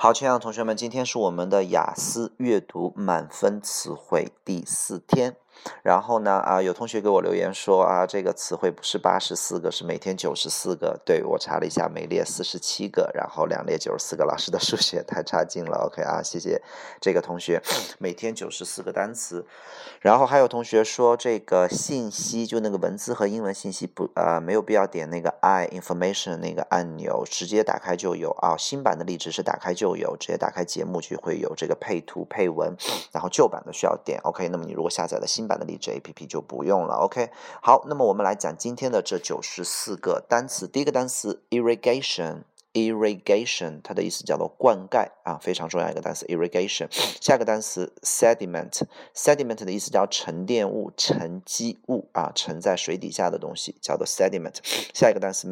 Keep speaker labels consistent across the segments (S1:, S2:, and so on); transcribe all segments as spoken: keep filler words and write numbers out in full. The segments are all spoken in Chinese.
S1: 好，亲爱的同学们，今天是我们的雅思阅读满分词汇第四天。然后呢，啊，有同学给我留言说啊，这个词汇不是八十四个，是每天九十四个。对，我查了一下，每列四十七个，然后两列九十四个。老师的数学太差劲了 ，OK 啊，谢谢这个同学，每天九十四个单词。然后还有同学说，这个信息就那个文字和英文信息不呃没有必要点那个 I information 那个按钮，直接打开就有啊。新版的荔枝是打开就有，直接打开节目就会有这个配图配文，然后旧版的需要点 OK。那么你如果下载了新版的荔枝 A P P 就不用了 OK。好，那么我们来讲今天的这九十四个单词。第一个单词 irrigation。irrigation 它的意思叫做灌溉啊，非常重要一个单词 irrigation。下一个单词 sediment。sediment 的意思叫沉淀物、沉积物啊，沉在水底下的东西叫做 sediment。下一个单词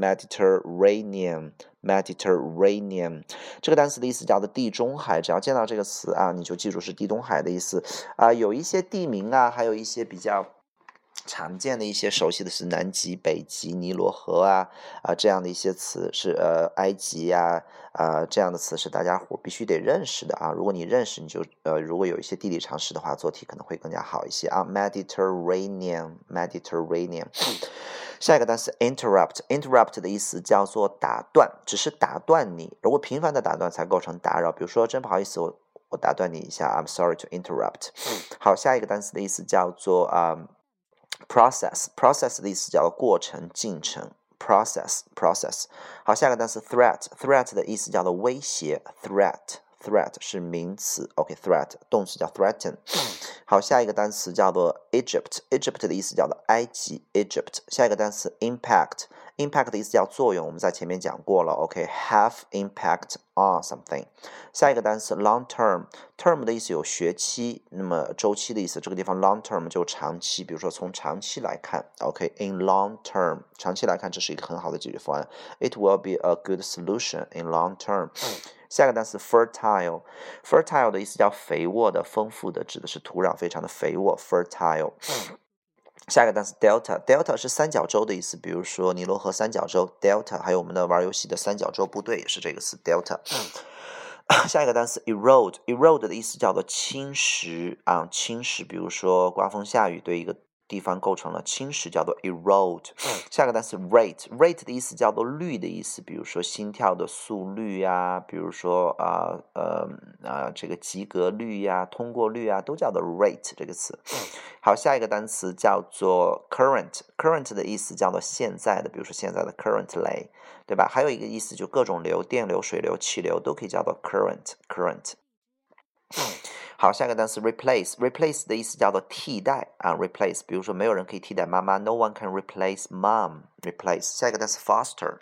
S1: Mediterranean。Mediterranean 这个单词的意思叫做地中海，只要见到这个词啊，你就记住是地中海的意思啊。有一些地名啊，还有一些比较常见的一些熟悉的是南极、北极、尼罗河啊啊这样的一些词是呃埃及呀 啊, 啊这样的词是大家伙必须得认识的啊。如果你认识，你就呃如果有一些地理常识的话，做题可能会更加好一些啊。Mediterranean Mediterranean 下一个单词 interrupt。 interrupt 的意思叫做打断，只是打断你，如果频繁的打断才构成打扰。比如说真不好意思，我我打断你一下 I'm sorry to interrupt。 好，下一个单词的意思叫做啊、um, process。 process 的意思叫做过程进程 process process。 好，下一个单词 threat。 threat 的意思叫做威胁 threat threat 是名词 OK threat 动词叫 threaten。 好，下一个单词叫做 Egypt。 Egypt 的意思叫做埃及 Egypt。 下一个单词 impact。 impact 的意思叫作用，我们在前面讲过了 OK have impact on something。 下一个单词 long term。 term 的意思有学期，那么周期的意思，这个地方 long term 就长期，比如说从长期来看 OK in long term 长期来看，这是一个很好的解决方案 It will be a good solution in long term。下一个单词 fertile。 fertile 的意思叫肥沃的、丰富的，指的是土壤非常的肥沃 fertile。下一个单词 delta。 delta 是三角洲的意思，比如说尼罗河三角洲 delta， 还有我们的玩游戏的三角洲部队也是这个词 delta。下一个单词 erode。 erode 的意思叫做侵蚀啊，侵蚀，比如说刮风下雨对一个地方构成了侵蚀，叫做 erode。 下个单词 rate。 rate 的意思叫做率的意思，比如说心跳的速率呀，比如说啊呃啊这个及格率呀、通过率啊，都叫做 rate 这个词。好，下一个单词叫做 current。 current 的意思叫做现在的，比如说现在的 currently， 对吧？还有一个意思就各种流，电流、水流、气流都可以叫做 current current。好，下一个单词 replace。 replace 的意思叫做替代啊 replace， 比如说没有人可以替代妈妈 No one can replace mom replace。 下一个单词 foster。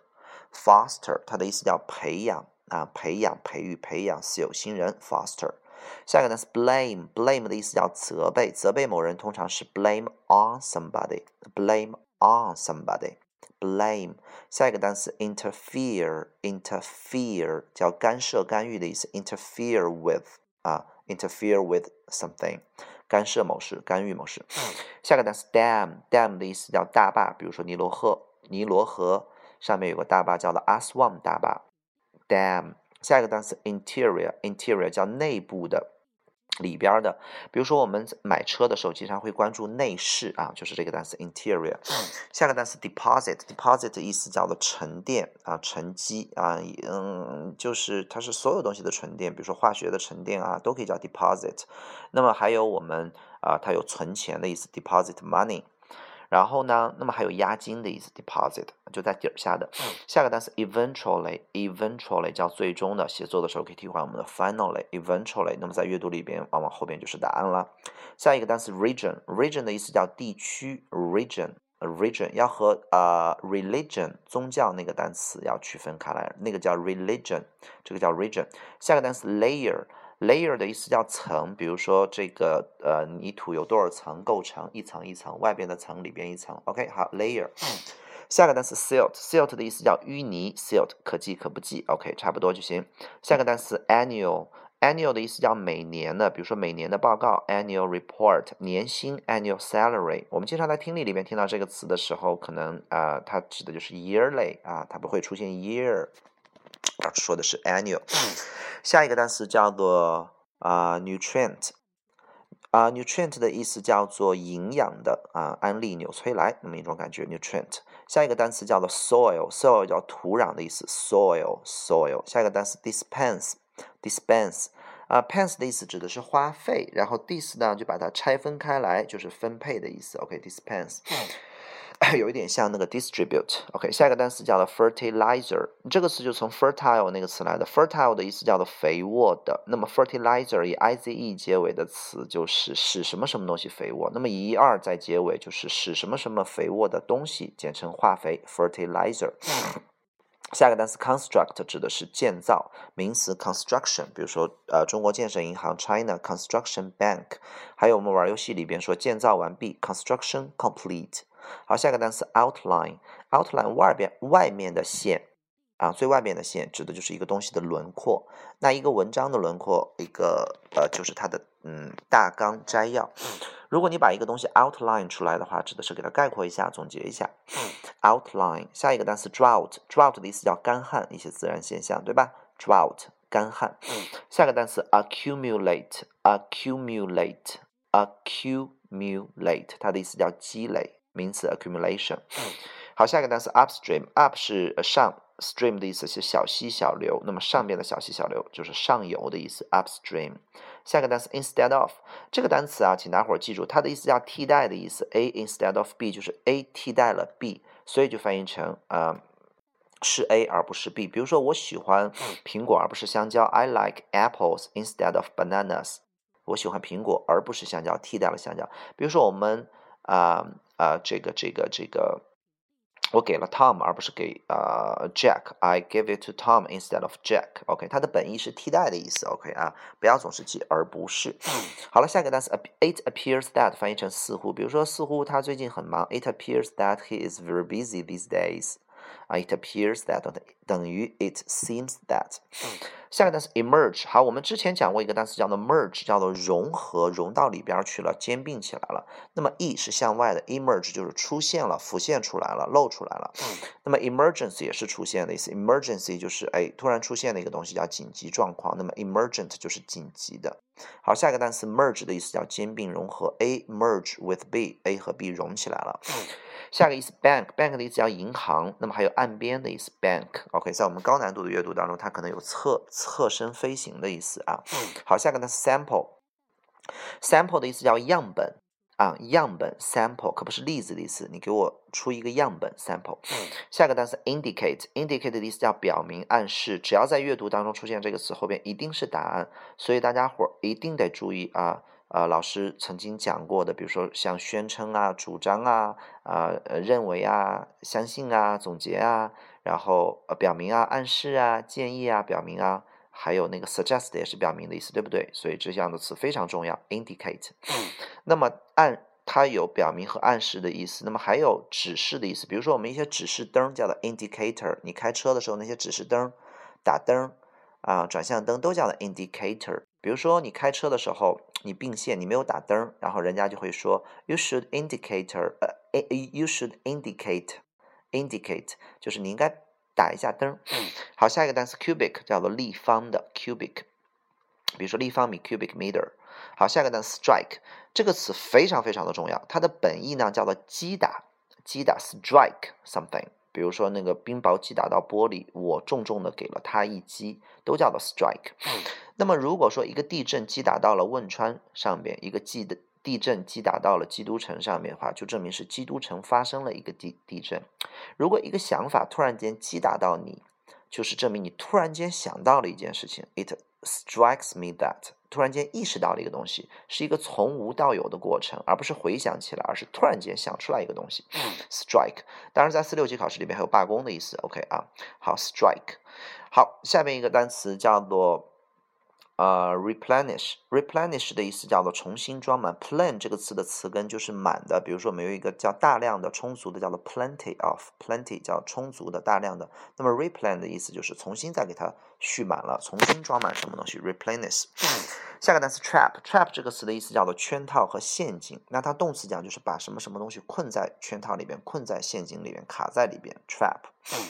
S1: foster 它的意思叫培养啊，培养、培育、培养似有新人 foster。 下一个单词 blame。 blame 的意思叫责备，责备某人通常是 blame on somebody blame on somebody blame。 下一个单词 interfere。 interfere 叫干涉、干预的意思 interfere with啊interfere with something， 干涉某事、干预某事。下个单词 dam。 dam 的意思叫大坝，比如说尼罗河，尼罗河上面有个大坝叫做 Aswan 大坝 dam。 下一个单词 interior。 interior 叫内部的、里边的，比如说我们买车的时候经常会关注内饰啊，就是这个单词 interior。 下个单词 deposit。 deposit 的意思叫做沉淀啊、沉积啊，嗯，就是它是所有东西的沉淀，比如说化学的沉淀啊，都可以叫 deposit。 那么还有我们啊，它有存钱的意思 deposit money。然后呢，那么还有押金的意思 deposit， 就在底下的。下个单词 eventually。 eventually 叫最终的，写作的时候可以替换我们的 finally eventually， 那么在阅读里边往往后边就是答案了。下一个单词 region。 region 的意思叫地区 region region 要和呃 religion 宗教那个单词要区分开来，那个叫 religion， 这个叫 region。 下个单词 layer。layer 的意思叫层，比如说这个呃泥土有多少层构成，一层一层，外边的层，里边一层 OK 好 layer。 下个单词 silt。 silt 的意思叫淤泥 silt 可记可不记 OK 差不多就行。下个单词 annual。 annual 的意思叫每年的，比如说每年的报告 annual report， 年薪 annual salary。 我们经常在听力里面听到这个词的时候，可能啊、呃、它指的就是 yearly 啊，它不会出现 year， 说的是 annual。 下一个单词叫做啊、呃、nutrient。啊、呃、nutrient 的意思叫做营养的啊、呃，安利纽崔莱那么一种感觉 nutrient。下一个单词叫做 soil，soil 叫土壤的意思 soil soil。下一个单词 dispense dispense 啊、呃、，pense 的意思指的是花费，然后 dis 呢就把它拆分开来，就是分配的意思。OK dispense。有一点像那个 distribute。OK， 下一个单词叫做 fertilizer， 这个词就从 fertile 那个词来的。fertile 的意思叫做肥沃的，那么 fertilizer 以 ize 结尾的词就是使什么什么东西肥沃，那么以 er 在结尾就是使什么什么肥沃的东西，简称化肥 fertilizer。下一个单词 construct 指的是建造，名词 construction， 比如说呃中国建设银行 China Construction Bank， 还有我们玩游戏里边说建造完毕 construction complete。好，下一个单词 outline，outline 外边外面的线啊，最外面的线指的就是一个东西的轮廓。那一个文章的轮廓，一个呃就是它的嗯大纲摘要。如果你把一个东西 outline 出来的话，指的是给它概括一下、总结一下。outline。下一个单词 drought，drought 的意思叫干旱，一些自然现象，对吧 ？drought 干旱。下个单词 accumulate，accumulate，accumulate， 它的意思叫积累。名词 accumulation。好，下一个单词 upstream，up 是上 ，stream 的意思是小溪小流，那么上边的小溪小流就是上游的意思 upstream。下一个单词 instead of， 这个单词啊，请大伙儿记住，它的意思叫替代的意思 ，a instead of b 就是 a 替代了 b， 所以就翻译成呃是 A 而不是 B。比如说我喜欢苹果而不是香蕉 ，I like apples instead of bananas。我喜欢苹果而不是香蕉，替代了香蕉。比如说我们啊啊、呃呃、这个这个这个。我给了 Tom 而不是给呃 Jack，I give it to Tom instead of Jack。OK， 它的本意是替代的意思。OK 啊，不要总是记而不是。好了，下一个单词 It appears that 翻译成似乎，比如说似乎他最近很忙 ，It appears that he is very busy these days。啊 ，It appears that 等于 It seems that。下个单词 emerge， 好，我们之前讲过一个单词叫做 merge， 叫做融合，融到里边去了，兼并起来了。那么 e 是向外的 ，emerge 就是出现了，浮现出来了，露出来了。那么 emergency 也是出现的意思 ，emergency 就是哎突然出现的一个东西叫紧急状况，那么 emergent 就是紧急的。好，下一个单词 merge 的意思叫兼并融合 ，A merge with B，A 和 B 融起来了。下个意思 bank，bank 的意思叫银行，那么还有岸边的意思 bank。OK， 在我们高难度的阅读当中，它可能有侧侧身飞行的意思啊。好，下个单词 sample，sample 的意思叫样本啊，样本 sample 可不是例子的意思，你给我出一个样本 sample。下个单词 indicate，indicate 的意思叫表明、暗示，只要在阅读当中出现这个词，后边一定是答案，所以大家伙一定得注意啊。呃，老师曾经讲过的，比如说像宣称啊、主张啊、呃、认为啊、相信啊、总结啊，然后呃表明啊、暗示啊、建议啊、表明啊，还有那个 suggest 也是表明的意思，对不对？所以这样的词非常重要 ，indicate。那么暗它有表明和暗示的意思，那么还有指示的意思，比如说我们一些指示灯叫做 indicator， 你开车的时候那些指示灯、打灯啊、转向灯都叫做 indicator。比如说你开车的时候，你并线，你没有打灯，然后人家就会说 you should indicator， 呃 ，you should indicate，indicate 就是你应该打一下灯。好，下一个单词 cubic 叫做立方的 cubic， 比如说立方米 cubic meter。好，下一个单词 strike， 这个词非常非常的重要，它的本意呢叫做击打，击打 strike something。比如说那个冰雹击打到玻璃，我重重的给了它一击，都叫做 strike。那么如果说一个地震击打到了汶川上边，一个地的地震击打到了基督城上面的话，就证明是基督城发生了一个地地震。如果一个想法突然间击打到你，就是证明你突然间想到了一件事情 ，it strikes me that， 突然间意识到了一个东西，是一个从无到有的过程，而不是回想起来，而是突然间想出来一个东西。strike， 当然在四六级考试里面还有罢工的意思。OK 啊，好 strike。好，下面一个单词叫做呃 replenish， replenish 的意思叫做重新装满 ，plen 这个词的词根就是满的，比如说我们有一个叫大量的、充足的，叫做 plenty of，plenty 叫充足的、大量的，那么 replen 的意思就是重新再给它蓄满了，重新装满什么东西 ，replenish。下个单词 trap，trap 这个词的意思叫做圈套和陷阱，那它动词讲就是把什么什么东西困在圈套里边、困在陷阱里边、卡在里边 ，trap。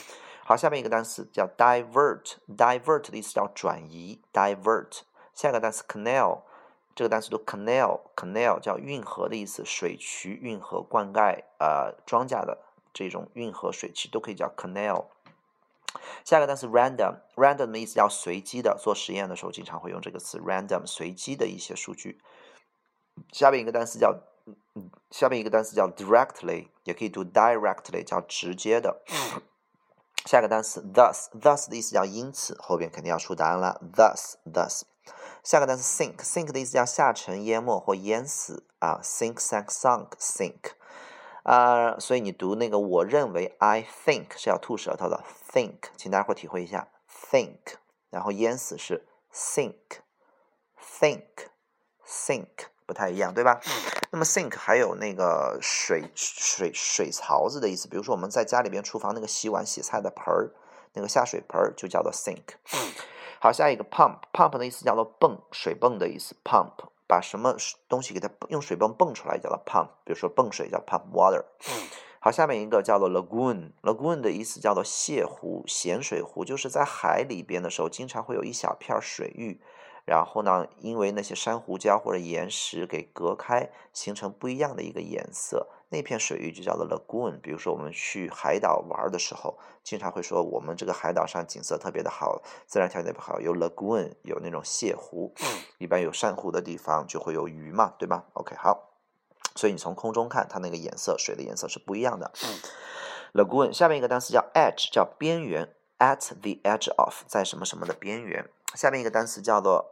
S1: 好，下面一个单词叫 divert，divert 的意思叫转移 ，divert。下一个单词 canal， 这个单词读 canal，canal 叫运河的意思，水渠、运河灌溉呃庄稼的这种运河水渠都可以叫 canal。下一个单词 random，random 的意思叫随机的，做实验的时候经常会用这个词 random， 随机的一些数据。下面一个单词叫下面一个单词叫 directly， 也可以读 directly， 叫直接的。下一个单词 thus，thus 的意思叫因此，后边肯定要出答案了 thus thus。下个单词 sink，sink 的意思叫下沉、淹没或淹死啊 ，sink sank sunk sink 啊、呃，所以你读那个我认为 I think 是要吐舌头的 think， 请大家伙体会一下 think， 然后淹死是 sink think sink 不太一样，对吧？那么 sink 还有那个水水水槽子的意思，比如说我们在家里边厨房那个洗碗洗菜的盆儿，那个下水盆儿就叫做 sink。好，下一个 pump，pump 的意思叫做泵，水泵的意思 pump， 把什么东西给它用水泵泵出来叫做 pump， 比如说泵水叫 pump water。好，下面一个叫做 lagoon，lagoon 的意思叫做泻湖、咸水湖，就是在海里边的时候，经常会有一小片水域。然后呢，因为那些珊瑚礁或者岩石给隔开，形成不一样的一个颜色，那片水域就叫做 lagoon。比如说我们去海岛玩的时候，经常会说我们这个海岛上景色特别的好，自然条件特别好，有 lagoon， 有那种泻湖，一般有珊瑚的地方就会有鱼嘛，对吧 ？OK， 好，所以你从空中看，它那个颜色，水的颜色是不一样的。lagoon， 下面一个单词叫 edge， 叫边缘 ，at the edge of， 在什么什么的边缘。下面一个单词叫做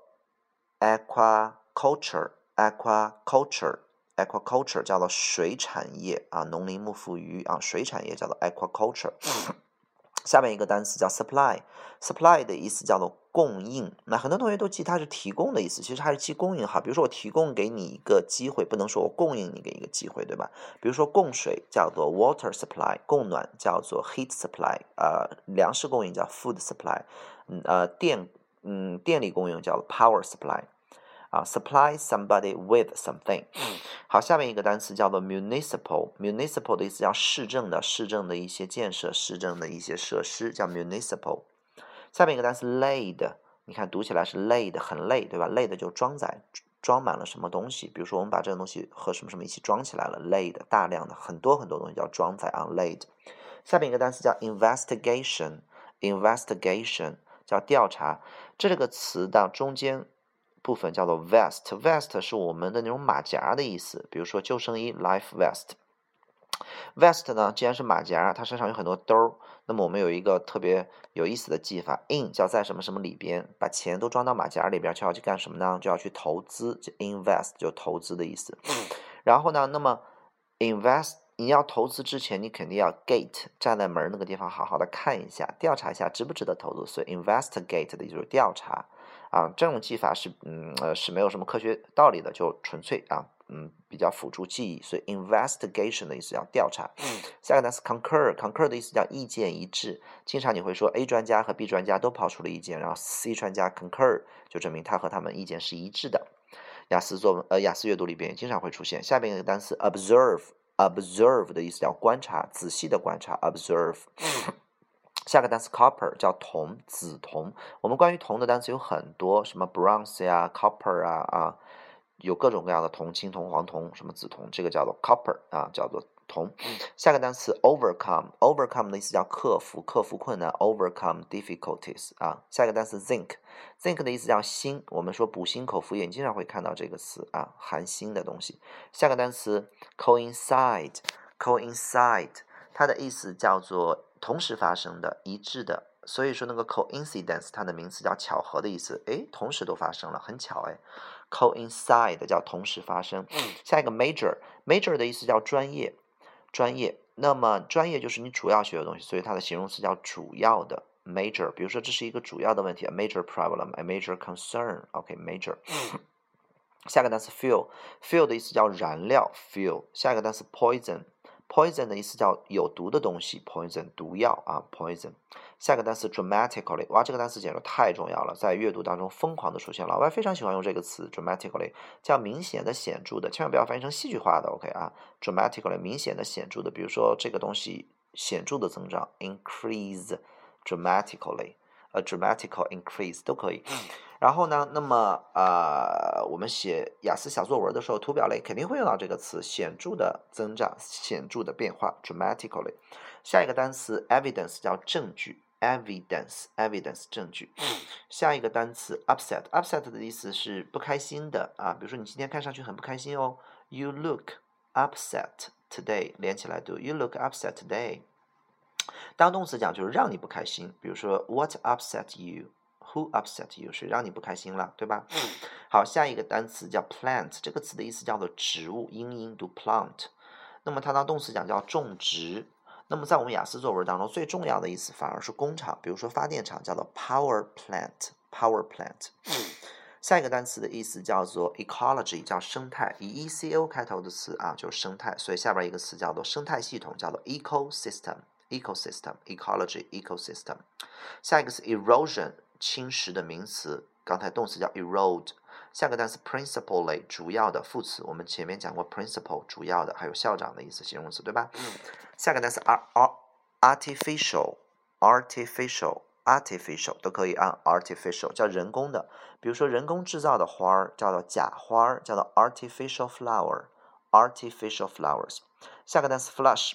S1: aquaculture aquaculture aquaculture 叫做水产业啊，农林牧副渔啊，水产业叫做 aquaculture。下面一个单词叫 supply supply 的意思叫做供应，那很多同学都记它是提供的意思，其实它是记供应哈。比如说我提供给你一个机会，不能说我供应你给一个机会，对吧？比如说供水叫做 water supply， 供暖叫做 heat supply， 呃，粮食供应叫 food supply， 嗯呃电嗯，电力供应叫 power supply， 啊 ，supply somebody with something。好，下面一个单词叫做 municipal，municipal 的意思叫市政的，市政的一些建设，市政的一些设施叫 municipal。下面一个单词 laid， 你看读起来是 laid， 很累，对吧 ？laid 就装载，装满了什么东西，比如说我们把这个东西和什么什么一起装起来了 ，laid 大量的很多很多东西叫装载 on laid。下面一个单词叫 investigation，investigation 叫调查。这个词的中间部分叫做 vest，vest 是我们的那种马甲的意思，比如说救生衣 life vest。vest 呢，既然是马甲，它身上有很多兜，那么我们有一个特别有意思的记法 ，in 叫在什么什么里边，把钱都装到马甲里边，就要去干什么呢？就要去投资，就 invest 就投资的意思。然后呢，那么 invest 你要投资之前，你肯定要 gate 站在门那个地方好好的看一下，调查一下值不值得投资，所以 investigate 的就是调查啊。这种记法是嗯呃是没有什么科学道理的，就纯粹啊嗯比较辅助记忆，所以 investigation 的意思叫调查。下个单词 concur，concur 的意思叫意见一致，经常你会说 A 专家和 B 专家都抛出了意见，然后 C 专家 concur 就证明他和他们意见是一致的。雅思作文呃雅思阅读里边也经常会出现。下边一个单词 observe。observe 的意思叫观察，仔细的观察 observe。下个单词 copper 叫铜，紫铜。我们关于铜的单词有很多，什么 bronze 呀 copper 啊啊，有各种各样的铜，青铜、黄铜，什么紫铜，这个叫做 copper 啊，叫做铜。下个单词 overcome，overcome 的意思叫克服，克服困难 overcome difficulties 啊。下一个单词 zinc，zinc 的意思叫锌，我们说补锌口服液，你经常会看到这个词啊，含锌的东西。下个单词 coincide，coincide 它的意思叫做同时发生的，一致的。所以说那个 coincidence 它的名词叫巧合的意思，诶，同时都发生了，很巧诶。coincide 叫同时发生。下一个 major，major 的意思叫专业。专业，那么专业就是你主要学的东西，所以它的形容词叫主要的 major。比如说这是一个主要的问题 ，a major problem，a major concern。OK，major。下个单词 fuel，fuel 的意思叫燃料 fuel。下一个单词 poison，poison 的意思叫有毒的东西 poison， 毒药啊 poison。下个单词 dramatically， 哇，这个单词简直太重要了，在阅读当中疯狂的出现，老外非常喜欢用这个词 dramatically， 叫明显的、显著的，千万不要翻译成戏剧化的 OK 啊 dramatically 明显的、显著的，比如说这个东西显著的增长 increase dramatically。A dramatical increase 都可以。然后呢，那么呃，我们写雅思小作文的时候，图表类肯定会用到这个词，显著的增长，显著的变化 ，dramatically。下一个单词 evidence 叫证据 ，evidence evidence 证据。下一个单词 upset upset 的意思是不开心的啊，比如说你今天看上去很不开心哦 ，You look upset today， 连起来读 ，You look upset today。当动词讲就是让你不开心，比如说 What upset you？Who upset you 是让你不开心了，对吧？好，下一个单词叫 plant， 这个词的意思叫做植物，英音读 plant。那么它当动词讲叫种植。那么在我们雅思作文当中，最重要的意思反而是工厂，比如说发电厂叫做 power plant，power plant。下一个单词的意思叫做 ecology， 叫生态，以 E C O 开头的词啊，就是生态，所以下边一个词叫做生态系统，叫做 ecosystem。ecosystem ecology ecosystem。 下一个是 erosion， 侵蚀的名词，刚才动词叫 erode。下个单词 principally， 主要的副词，我们前面讲过 principal 主要的，还有校长的意思，形容词，对吧？下个单词 artificial artificial artificial 都可以按 artificial 叫人工的，比如说人工制造的花儿叫做假花儿，叫做 artificial flower artificial flowers。下个单词 flush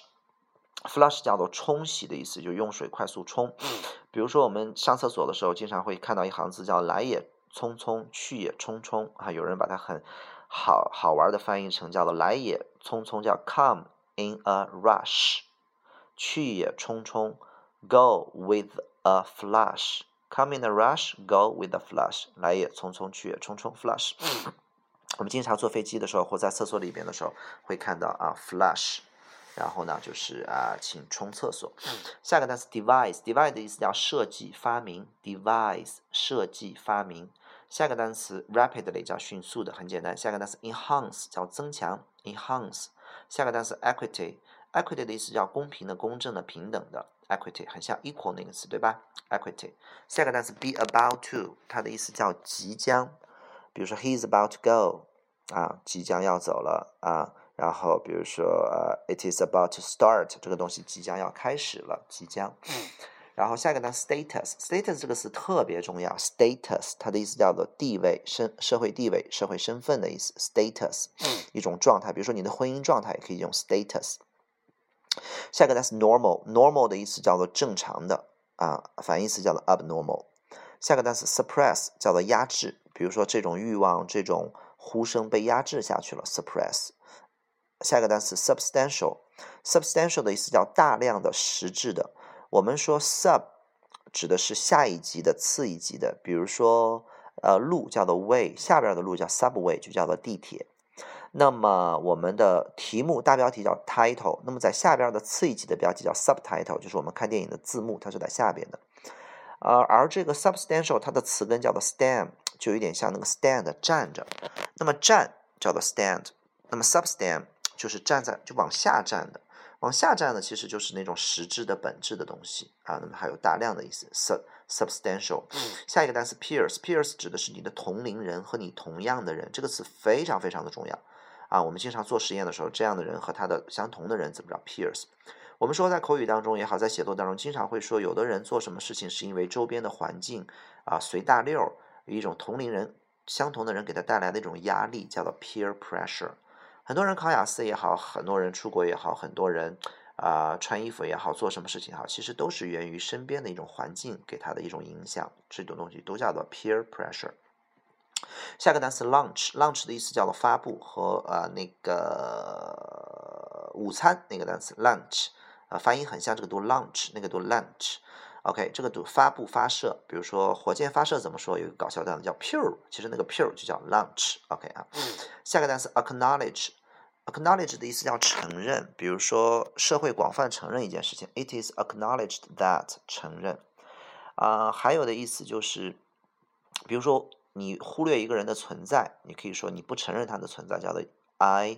S1: flush 叫做冲洗的意思，就用水快速冲。比如说我们上厕所的时候，经常会看到一行字叫来也匆匆，去也匆匆啊，有人把它很好好玩的翻译成叫做来也匆匆，叫 come in a rush， 去也匆匆 go with a flush， come in a rush go with a flush， 来也匆匆，去也匆匆 flush。 我们经常坐飞机的时候或在厕所里边的时候会看到啊 flush，然后呢，就是啊，请冲厕所。下个单词 devise，devise 的意思叫设计、发明 ，devise 设计、发明。下个单词 rapidly 叫迅速的，很简单。下个单词 enhance 叫增强 ，enhance。下个单词 equity，equity 的意思叫公平的、公正的、平等的 ，equity 很像 equal 那个词，对吧 ？equity。下个单词 be about to， 它的意思叫即将，比如说 he is about to go， 啊，即将要走了啊。然后比如说呃 it is about to start， 这个东西即将要开始了，即将。然后下一个单词 status status 这个词特别重要 status 它的意思叫做地位、身社会地位、社会身份的意思 status 一种状态，比如说你的婚姻状态也可以用 status。下一个单词 normal normal 的意思叫做正常的啊，反义词叫做 abnormal。下个单词 suppress 叫做压制，比如说这种欲望、这种呼声被压制下去了 suppress。下一个单词 substantial substantial 的意思叫大量的、实质的。我们说 sub 指的是下一级的、次一级的，比如说呃路叫做 way， 下边的路叫 subway， 就叫做地铁。那么我们的题目大标题叫 title， 那么在下边的次一级的标题叫 subtitle， 就是我们看电影的字幕，它是在下边的。呃，而这个 substantial 它的词根叫做 stand， 就有点像那个 stand 站着，那么站叫做 stand， 那么 substand 就是站在就往下站的，往下站的其实就是那种实质的本质的东西啊，那么还有大量的意思 sub substantial。下一个单词 peers peers 指的是你的同龄人和你同样的人，这个词非常非常的重要啊，我们经常做实验的时候，这样的人和他的相同的人怎么着 peers。我们说在口语当中也好，在写作当中经常会说有的人做什么事情是因为周边的环境啊随大溜，有一种同龄人相同的人给他带来的一种压力叫做 peer pressure。很多人考雅思也好，很多人出国也好，很多人啊、呃、穿衣服也好，做什么事情也好，其实都是源于身边的一种环境给他的一种影响，这种东西都叫做 peer pressure。下个单词 lunch lunch 的意思叫做发布和呃那个午餐那个单词 lunch， 呃发音很像，这个读 lunch， 那个读 lunch。OK， 这个读发布发射，比如说火箭发射怎么说？有一个搞笑段子叫 pew， 其实那个 pew 就叫 launch。OK 啊，下个单词 acknowledge acknowledge 的意思叫承认，比如说社会广泛承认一件事情 ，it is acknowledged that 承认啊、呃，还有的意思就是，比如说你忽略一个人的存在，你可以说你不承认他的存在，叫做 I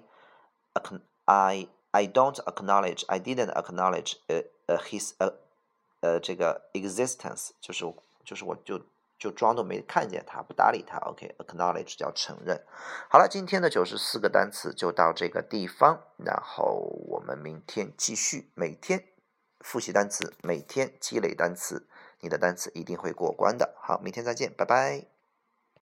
S1: I I don't acknowledge I didn't acknowledge uh, uh, his uh, 呃这个 existence， 就是就是我就就装作没看见他，不搭理他。OK acknowledge 叫承认。好了，今天的九十四个单词就到这个地方，然后我们明天继续，每天复习单词，每天积累单词， 你的单词一定会过关的。好，明天再见，拜拜。